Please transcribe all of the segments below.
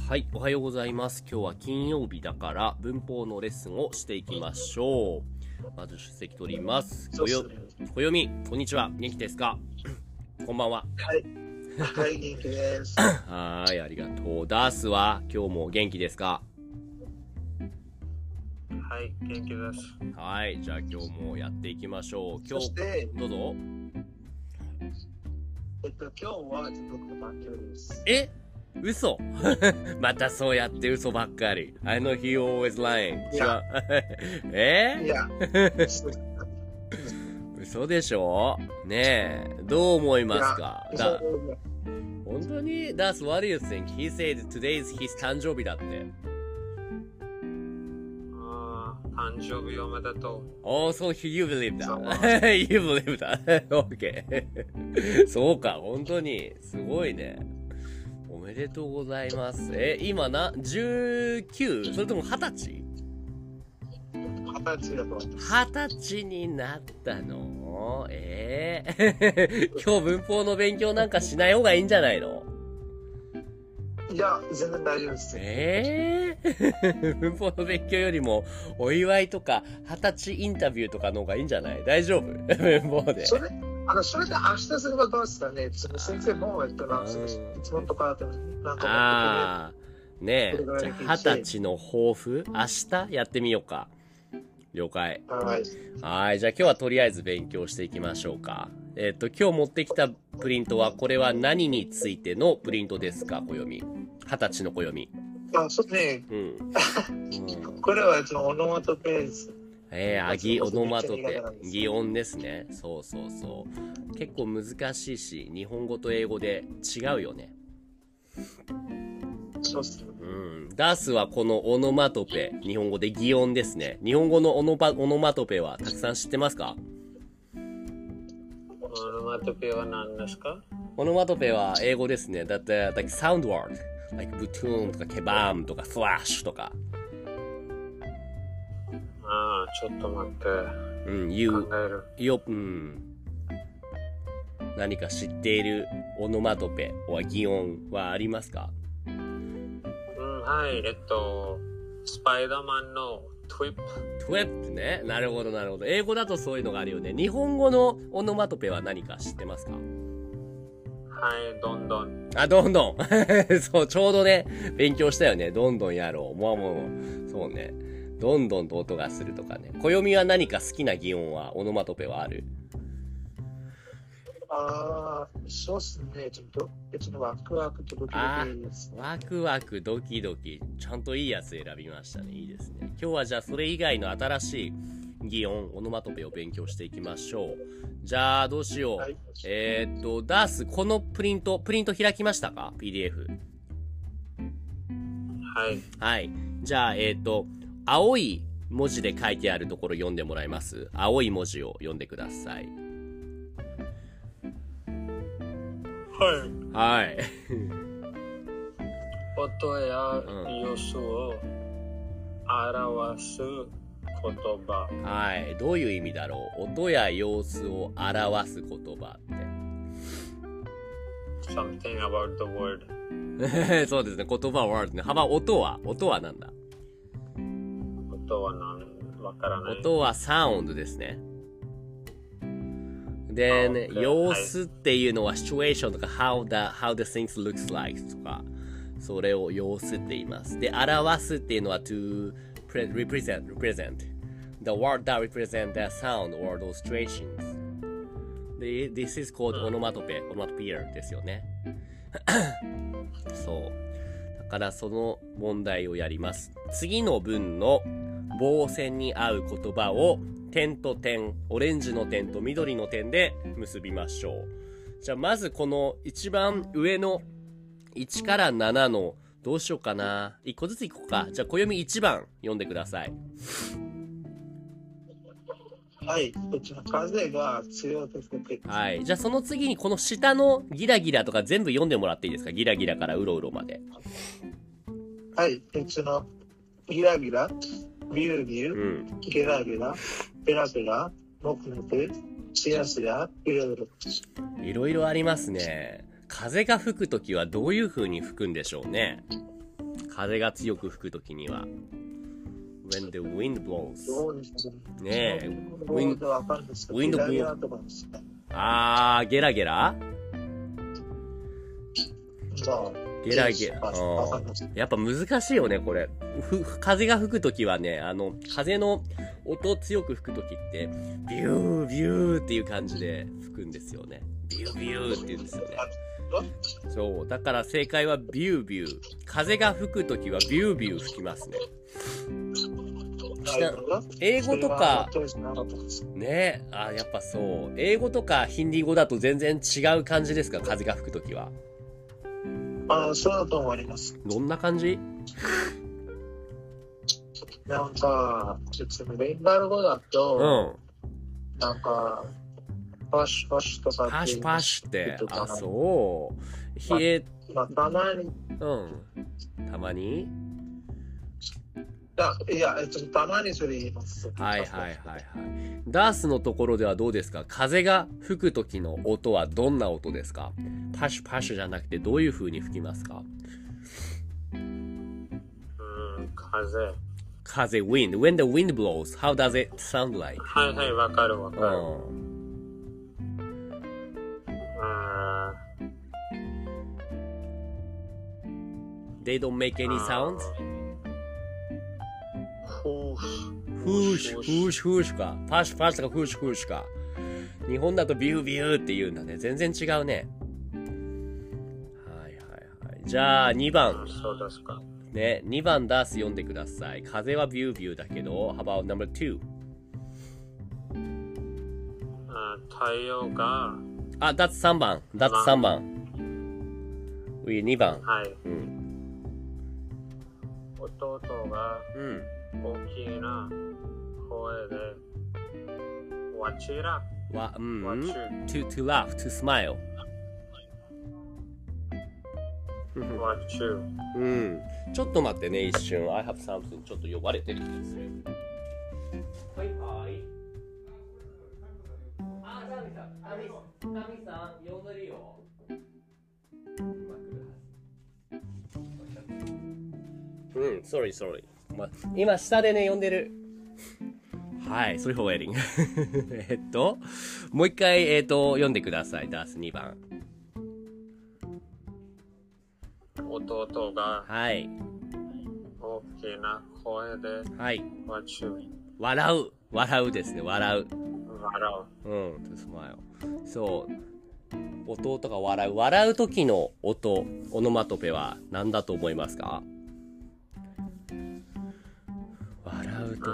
はい、おはようございます。今日は金曜日だから文法のレッスンをしていきましょう。まず出席取ります。暦、こんにちは。元気ですか？こんばんは。 はい。はい、元気です。 はい、ありがとう。ダースは今日も元気ですか？ はい、元気です。 はい、じゃあ今日もやっていきましょう。今日、どうぞ。 今日は僕の番組です。 嘘またそうやって嘘ばっかり。I know he always lying. 違う。 いや。 嘘でしょねえ。どう思いますか？本当に That's what do you think? He said today is his 誕生日だって。 誕生日おめでとう。 Oh, so you believe that? You believe that? Okay. そうか、本当に。すごいね。おめでとうございます。今19？ それとも20歳？ 20歳だと思います。 20歳になったの？今日文法の勉強なんかしない方がいいんじゃないの？ いや、全然大丈夫です。 文法の勉強よりもお祝いとか20歳インタビューとかの方がいいんじゃない？大丈夫？文法で。 それで明日すればどうですかね？先生もいつもとかなんかねえ、じゃあ20歳の抱負明日やってみようか。了解。はい、じゃあ今日はとりあえず勉強していきましょうか。今日持ってきたプリントはこれは何についてのプリントですか？暦。20歳の暦。 そうね。これはオノマトペです。 オノマトペ。擬音ですね。そうそうそう。結構難しいし、日本語と英語で違うよね。 そうっすね。 ダースはこのオノマトペ、日本語で擬音ですね。日本語のオノマトペはたくさん知ってますか？ オノマトペは何ですか？ オノマトペは英語ですね。だって、like sound word, like button とかケバームとかフラッシュとか。 ちょっと待って。考える。 何か知っているオノマトペは擬音はありますか？ はい、スパイダーマンのトゥイップ。 トゥイップね。なるほど、なるほど。英語だとそういうのがあるよね。日本語のオノマトペは何か知ってますか？ はい、どんどん。 どんどん。そう、ちょうどね、勉強したよね。どんどんやろう。もう。そうね。どんどんと音がするとかね。暦は何か好きな擬音は、オノマトペはある？ そうっすね。ちょっとワクワクとドキドキです。 ワクワクドキドキ。ちゃんといいやつ選びましたね。いいですね。今日はじゃあそれ以外の新しい擬音、オノマトペを勉強していきましょう。じゃあどうしよう。 はい、 ダース、このプリント開きましたか？ PDF。 はい。 はい。じゃあ、青い文字で書いてあるところ読んでもらえます？青い文字を読んでください。はい。 音や様子を表す言葉。 はい。どういう意味だろう？音や様子を表す言葉って。 Something about the word. そうですね。言葉は word ね。音はなんだ？ 音はわからない。 音はサウンドですね。でね、様子っていうのは situation とか how the things looks like とか、それを様子って言います。で、表すっていうのは to represent the word that represent the sound or those situations。で、this is called onomatopoeia ですよね。そう。だからその問題をやります。次の文の棒線に合う言葉を点と点、オレンジの点と緑の点で結びましょう。じゃあまずこの一番上の1から7のどうしようかな。1個ずついこうか。じゃあ暦1番読んでください。 はい。風が強いですね。 はい。じゃあその次にこの下のギラギラとか全部読んでもらっていいですか？ギラギラからうろうろまで。 はい。ギラギラ、ビルビル、ゲラゲラ、ペラペラ、モクモク、シヤシヤ、いろいろ。 いろいろありますね。風が吹くときはどういう風に吹くんでしょうね。 風が強く吹くときには。when the wind blows。 どうですかねえ。 wind わかるんですか？ wind ゲラゲラとかですか？ ゲラゲラまあ、 ゲラゲラ。 わかります。 やっぱ難しいよね、これ。風が吹くときはね、風の音強く吹くときって、ビュービューっていう感じで吹くんですよね。ビュービューって言うんですよね。そう。だから正解はビュービュー。風が吹くときはビュービュー吹きますね。英語とか、ねやっぱそう。英語とかヒンディー語だと全然違う感じですか？風が吹くときは。 そうだと思います。 どんな感じ？ なんか、ベンガル語だと、なんか、パシュパシュとかって。 パシュパシュって、そう。 たまに。 たまに？ いや、たまにそれ言います。 はい。ダースのところではどうですか？風が吹く時の音はどんな音ですか？パシュパシュじゃなくてどういう風に吹きますか？風 wind. When the wind blows, how does it sound like? はい、わかる。 They don't make any sounds? フーシュか。パシュパシュとかフーシュか。日本だとビュービューって言うんだね。全然違うね。はい。じゃあ2番。 そうですか。 ね、2番ダース読んでください。風はビュービューだけど、How about number 2? 太陽が。 that's 3番。3番。2番。 はい。弟が。大きな声で、わちら。 to laugh, to smile. わちゅ。 ちょっと待ってね、一瞬。I have something. ちょっと呼ばれてる気がする。はい。タミさん、呼んでるよ。sorry. 今下でね呼んでる。はい、それフォーウェディング。もう一回読んでください。ダース2番。 弟がはい大きな声ではい笑うですね。笑う。to smile。そう。弟が笑う時の音、オノマトペは何だと思いますか？笑うとき。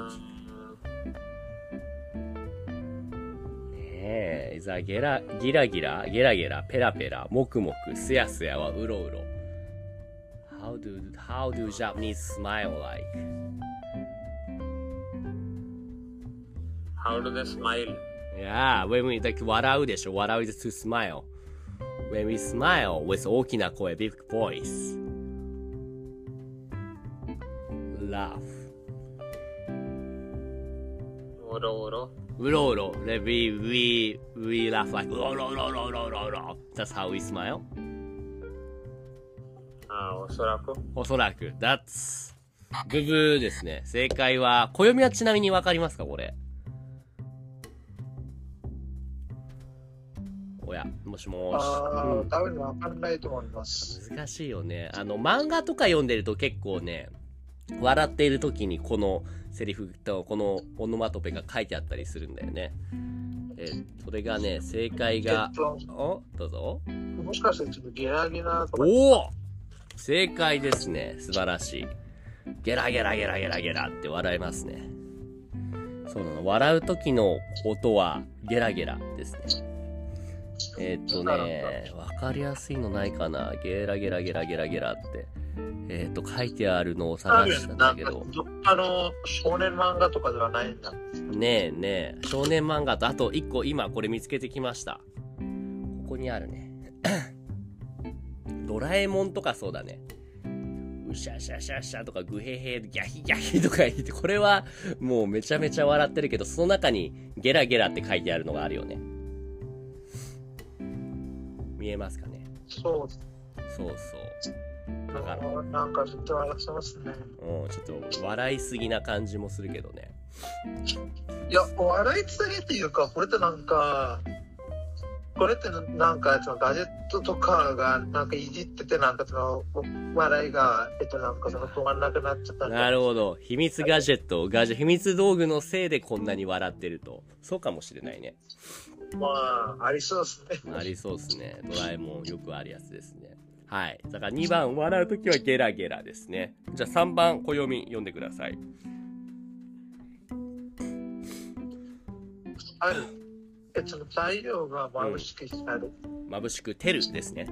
ねえ、ギラギラ、ペラペラ、もくもく、すやすやはうろうろ。How do Japanese smile like? How do they smile? Yeah, when we like 笑うでしょ。笑う is to smile. When we smile with 大きな声、big voice. Laugh. うろうろ。 We laugh like うろうろ。That's how we smile. おそらく。That's ブブーですね。正解は、暦はちなみにわかりますかこれ。おや、もしもーし。 多分わかんないと思います。 難しいよね。漫画とか読んでると結構ね、笑っている時にこのセリフとこのオノマトペが書いてあったりするんだよね。それがね、正解が、どうぞ。 もしかしてちょっとゲラゲラとか。 正解ですね。素晴らしい。ゲラゲラって笑いますね。そうなの。笑う時の音はゲラゲラですね。わかりやすいのないかな。ゲラゲラって。書いてあるのを探したんだけど。 少年漫画とかではないんだ。 ねえ。少年漫画と、あと一個今これ見つけてきました。ここにあるね。ドラえもんとかそうだね。うしゃしゃしゃしゃとかグヘヘギャヒギャヒとか言って、これはもうめちゃめちゃ笑ってるけど、その中にゲラゲラって書いてあるのがあるよね。見えますかね？ そう。 そうそうだからなんかずっと笑ってますね。 ちょっと笑いすぎな感じもするけどね。 いや、笑いすぎっていうか、これってなんかそのガジェットとかがなんかいじってて、なんかその笑いがなんかその止まんなくなっちゃったんで。 なるほど。秘密ガジェット、秘密道具のせいでこんなに笑ってると。そうかもしれないね。 まあ、ありそうですね。 ありそうですね。ドラえもんよくあるやつですね。はい。だから2番、笑うときはゲラゲラですね。じゃあ3番、小読み読んでください。 はい。太陽が眩しく光る。 眩しく照るですね。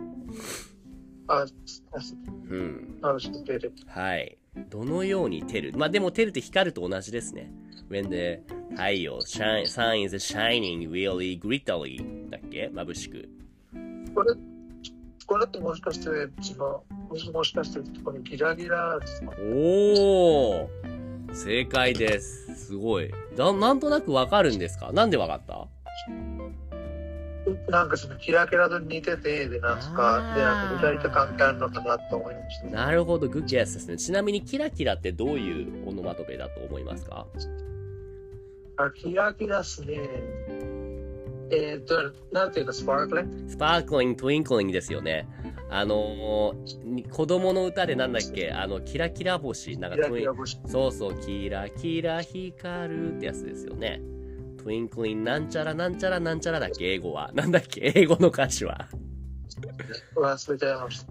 眩しく照る。 はい。どのように照る。まあでも照るって光ると同じですね。When the 太陽 sun is shining really glittery だっけ眩しく。 これってもしかしてもしかしてこれギラギラですか？ おー正解です。すごい。なんとなくわかるんですか？なんでわかった？ なんかそのキラキラと似てて、でなんか具体的関係あるのかなと思いました。 なるほど、グッゲスですね。ちなみにキラキラってどういうオノマトペだと思いますか？ キラキラですね。なんていうかスパークリング？ スパークリング、トゥインクリングですよね。子供の歌でなんだっけキラキラ星。なんかそうそう、キラキラ光るってやつですよね。トゥインクリンなんちゃらなんちゃらなんちゃらだっけ英語は。なんだっけ英語の歌詞は。 忘れちゃいました。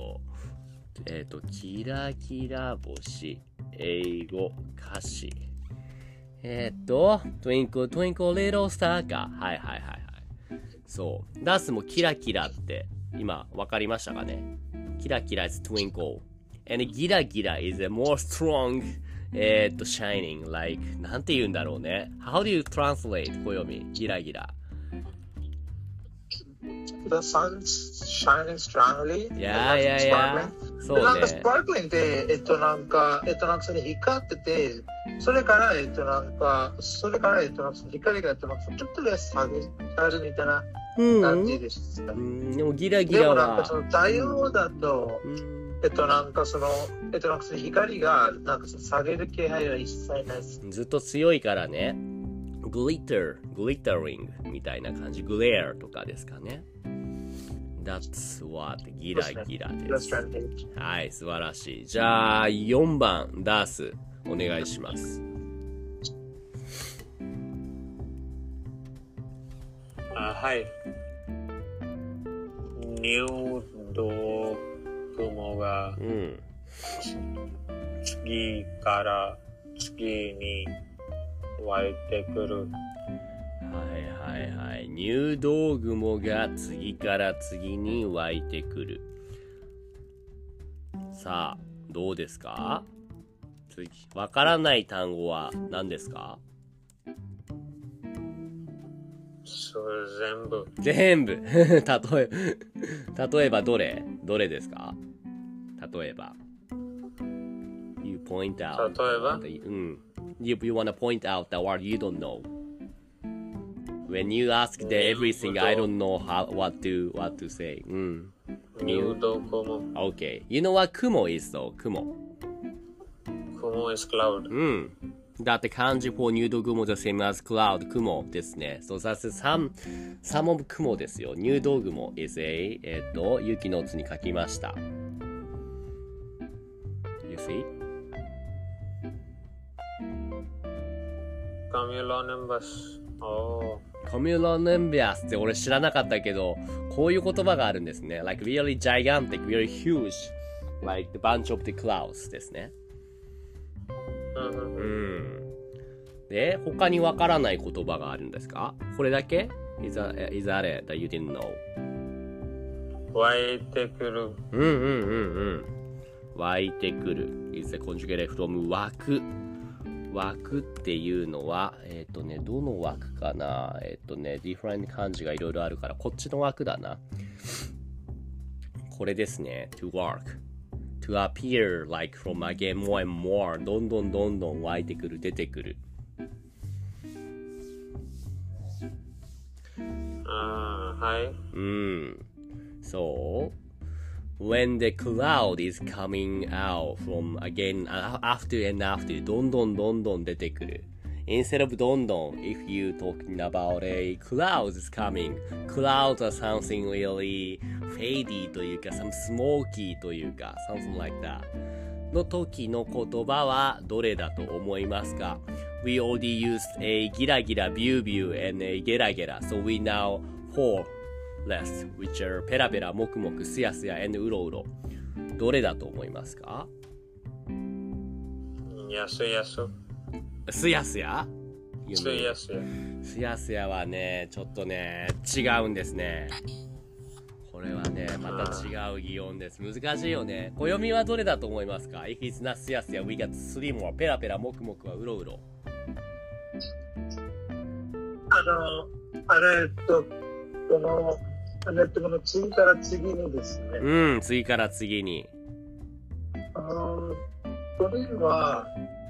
キラキラ星。英語歌詞。Twinkle Twinkle Little Star か。はい。そう。ダースもキラキラって今わかりましたかね？キラキラ is twinkle. And ギラギラ is a more strong shining like なんて言うんだろうね。How do you translate 小読みギラギラ。 The sun's shining strongly. Yeah. そうね。 なんかスパークリングでなんかそれ光ってて、それから光がちょっとで下げるみたいな感じでした。 でもギラギラは。 でもなんかその太陽だと、なんかその光がなんか下げる気配は一切ないです。 ずっと強いからね。glittering みたいな感じ。glare とかですかね。That's what ギラギラです。はい、素晴らしい。じゃあ、4番、ダース、お願いします。 はい。入道雲が、次から次に湧いてくる。 はい。入道雲が次から次に湧いてくる。さあ、どうですか？わからない単語は何ですか？ それ全部。例えばどれですか？例えば。You point out. 例えば You want to point out the word you don't know. When you ask everything, I don't know what to say. 入道雲。 Okay. You know what 雲 is though? 雲 is cloud. だって漢字 for 入道雲 the same as cloud 雲ですね。So that's some of 雲ですよ。入道雲 is a 雪の図に書きました。You see? Cumulonimbus. コミュロネンビアスって俺知らなかったけど、こういう言葉があるんですね。Like really gigantic, really huge, like the bunch of the clouds ですね。で、他にわからない言葉があるんですか？これだけ is that it that you didn't know? 湧いてくる。 湧いてくる is the conjugate from 湧く。湧くっていうのは、どの湧くかなdifferent 漢字がいろいろあるから、こっちの湧くだな。これですね。to work。to appear like from again more and more どんどん湧いてくる、出てくる。 はい。 そう。 when the cloud is coming out from again after and after どんどん出てくる instead of どんどん if you talking about a clouds is coming clouds are something really fadey というか some smoky というか something like that の時の言葉はどれだと思いますか We already used a ギラギラ view and a ゲラゲラ so we now four less which are ペラペラもくもくすやすや and うろうろどれだと思いますかすやすすやすやすやすやはねちょっとね違うんですねこれはねまた違う擬音です難しいよね暦はどれだと思いますか If it's not すやすや we got three more ペラペラもくもくはうろうろこの次から次にですね次から次にこれは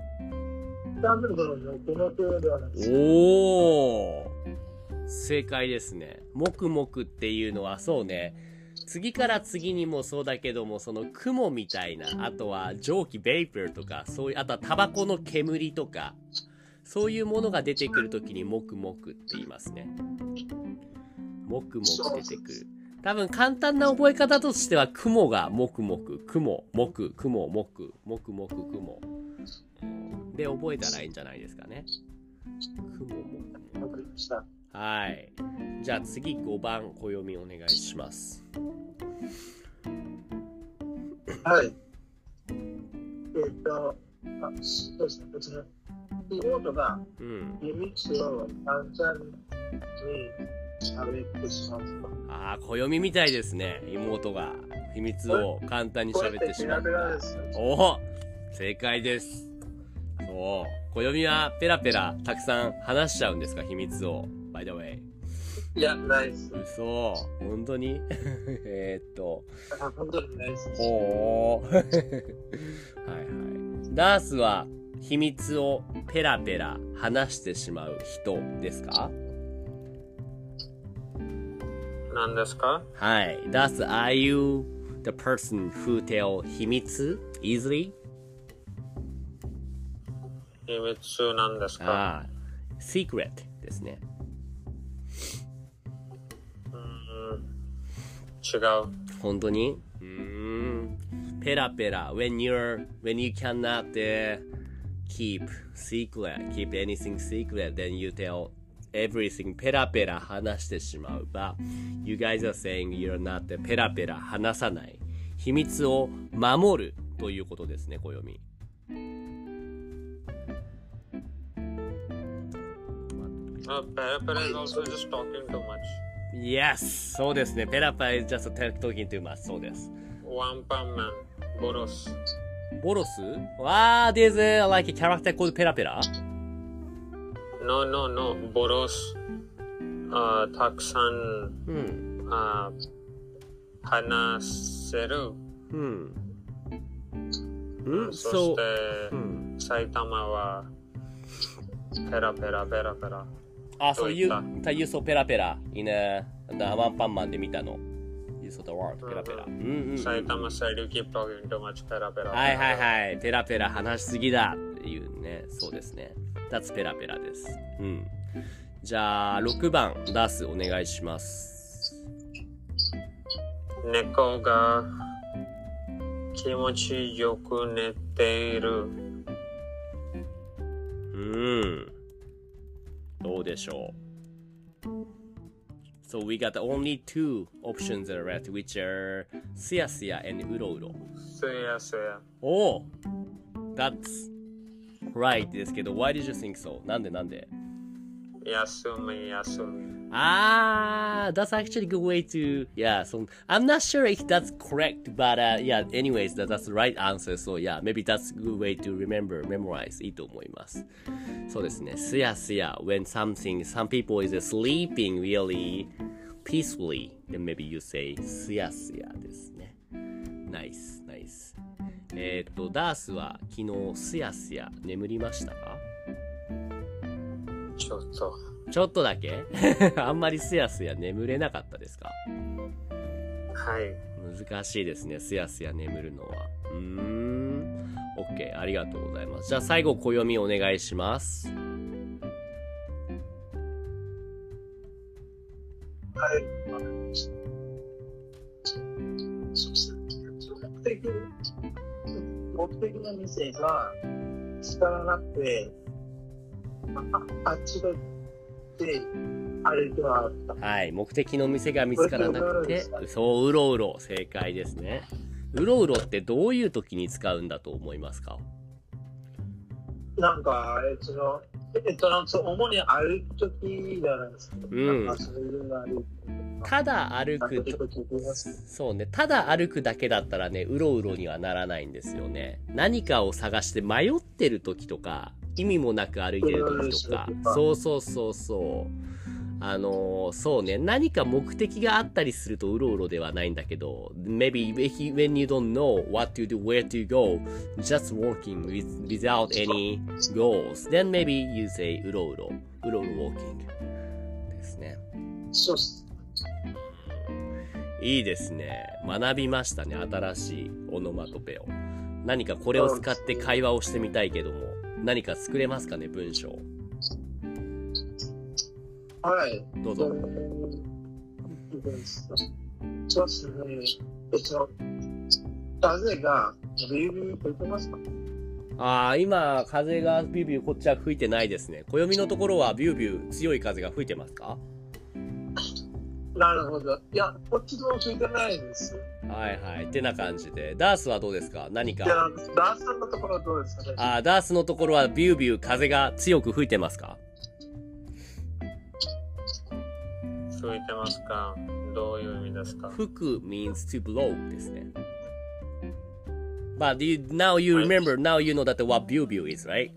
おー正解ですねもくもくっていうのはそうね次から次にもそうだけどもその雲みたいなあとは蒸気ベイパーとかそういうあとはタバコの煙とかそういうものが出てくるときにもくもくって言いますねもくもく出てくる多分簡単な覚え方としては雲がもくもく雲もく雲もくもくもく雲で覚えたらいいんじゃないですかね雲もくはいじゃあ次5番暦お願いしますはいそうですね別に妹が秘密を簡単に喋ってしまう暦みたいですね妹が秘密を簡単に喋ってしまうおお正解ですそう暦はペラペラたくさん話しちゃうんですか秘密を by the way いやないです嘘本当に本当にないですおーはいはいダースは秘密をペラペラ話してしまう人ですか何ですかはい。Thus, are you the person who tell 秘密 easily? 秘密なんですか secret ですね。 違う。 本当にペラペラ when you cannot keep anything secret, then you tell everything ペラペラ話してしまう。But you guys are saying you're not ペラペラ話さない。秘密を守るということですね、暦。 ペラペラ is also just talking too much. Yes! そうですね。ペラペラ is just talking too much. そうです。 ワンパンマン、ボロス。 ボロスthere's like a character called ペラペラ No, ボロス。たくさん、話せる。そして、埼玉はペラペラ。 そういう、you saw ペラペラ inワンパンマンで見たの。You saw the word ペラペラ。 埼玉 said you keep talking too much ペラペラ。 はい。ペラペラ話しすぎだっていうね。そうですね。That's ペラペラです。じゃあ、6番、ダースお願いします。 猫が気持ちよく寝ている。 どうでしょう So we got only two options that are left, which are すやすや and うろうろ。 すやすや。 That's right ですけど、why did you think so? なんで休み。 That's actually a good way to, so I'm not sure if that's correct, but anyways, that's the right answer, so maybe that's a good way to memorize いいと思います。そうですね、すやすや when some people is sleeping really peacefully, then maybe you say すやすやですね。Nice. ダースは昨日すやすや眠りましたか？ちょっとだけあんまりすやすや眠れなかったですか？ はい。 難しいですね。すやすや眠るのは。OK。ありがとうございます。じゃあ最後、暦お願いします。 はい。目的の店が見つからなくて、あっちであれではあった。 はい。目的の店が見つからなくて、そう、うろうろ。正解ですね。うろうろってどういう時に使うんだと思いますか？ なんか、主に歩くときじゃないですか。なんかそういうの歩く。 ただ歩くと、そうね、ただ歩くだけだったらね、うろうろにはならないんですよね。何かを探して迷ってる時とか、意味もなく歩いてる時とか、そうそうそうそう。そうね、何か目的があったりするとうろうろではないんだけど、maybe when you don't know what to do, where to go, just walking without any goals, then maybe you say うろうろ walking ですね。 そうっす。 いいですね。学びましたね。新しいオノマトペを。何かこれを使って会話をしてみたいけども、何か作れますかね、文章。 はい。 どうぞ。 そうですね。風がビュービュー吹いてますか？ 今、風がビュービューこっちは吹いてないですね。暦のところはビュービュー強い風が吹いてますか？ なるほど。いや、こっちも吹いてないんですよ。 はいはい。ってな感じで。ダースはどうですか？何か。 いや、ダースのところはどうですかね？ ダースのところはビュービュー風が強く吹いてますか？ 吹いてますか？どういう意味ですか？ 吹く means to blow ですね。But now you remember, now you know that what biu biu is, right?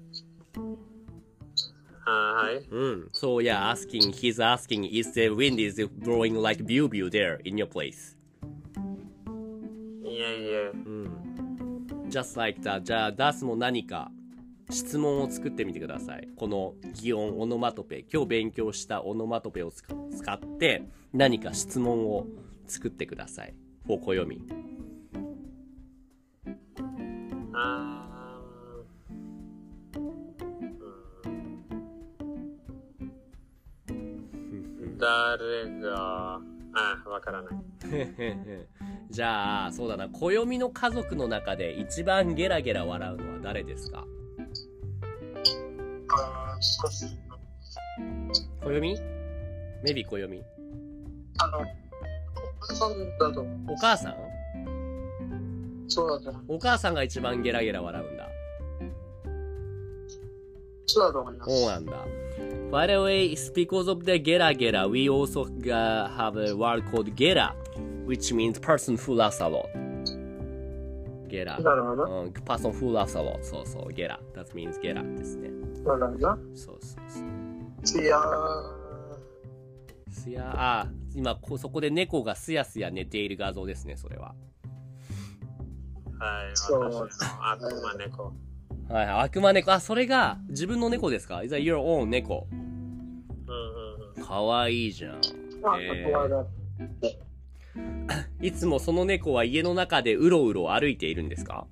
はい。 So yeah, he's asking, is the wind is blowing like biu biu there in your place? いえ。 Just like that. じゃあ、ダースも何か質問を作ってみてください。この擬音オノマトペ、今日勉強したオノマトペを使って何か質問を作ってください。for 暦。 誰がわからない。 じゃあ、そうだな、暦の家族の中で一番ゲラゲラ笑うのは誰ですか？ そうですね。 暦？メビ暦。 お母さんだと。 お母さん？ そうだと。 お母さんが一番ゲラゲラ笑うんだ。 そうだと思います。 そうなんだ。By the way, it's because of the gera gera, we also have a word called gera, which means person who laughs a lot. Gera. なるほど。 person who laughs a lot. そうそう、gera. That means gera ですね。 なるほど。 そうそうそう。すや今そこで猫がすやすや寝ている画像ですね、それは。 はい、私の悪魔猫。 はい、悪魔猫。それが自分の猫ですか？ Is that your own 猫？かわいいじゃん。いつもその猫は家の中でうろうろ歩いているんですか？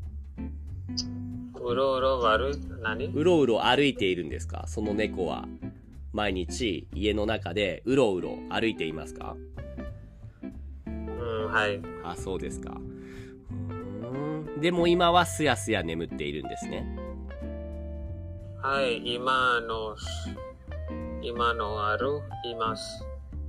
うろうろ何？ うろうろ歩いているんですか？その猫は毎日家の中でうろうろ歩いていますか？ はい。 そうですか。でも今はすやすや眠っているんですね。 はい、今のいます。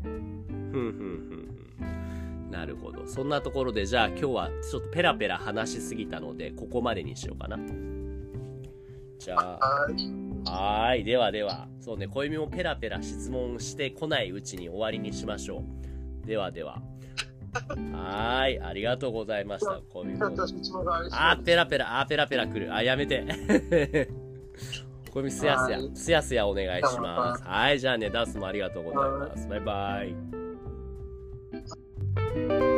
なるほど。そんなところで、じゃあ今日はちょっとペラペラ話しすぎたので、ここまでにしようかな。じゃあ、はい。ではでは、そうね、小弓もペラペラ質問してこないうちに終わりにしましょう。ではでは。はい。ありがとうございました。小弓も。ペラペラ来る。やめて。小弓すやすやお願いします。はい。じゃあね、ダースもありがとうございます。バイバイ。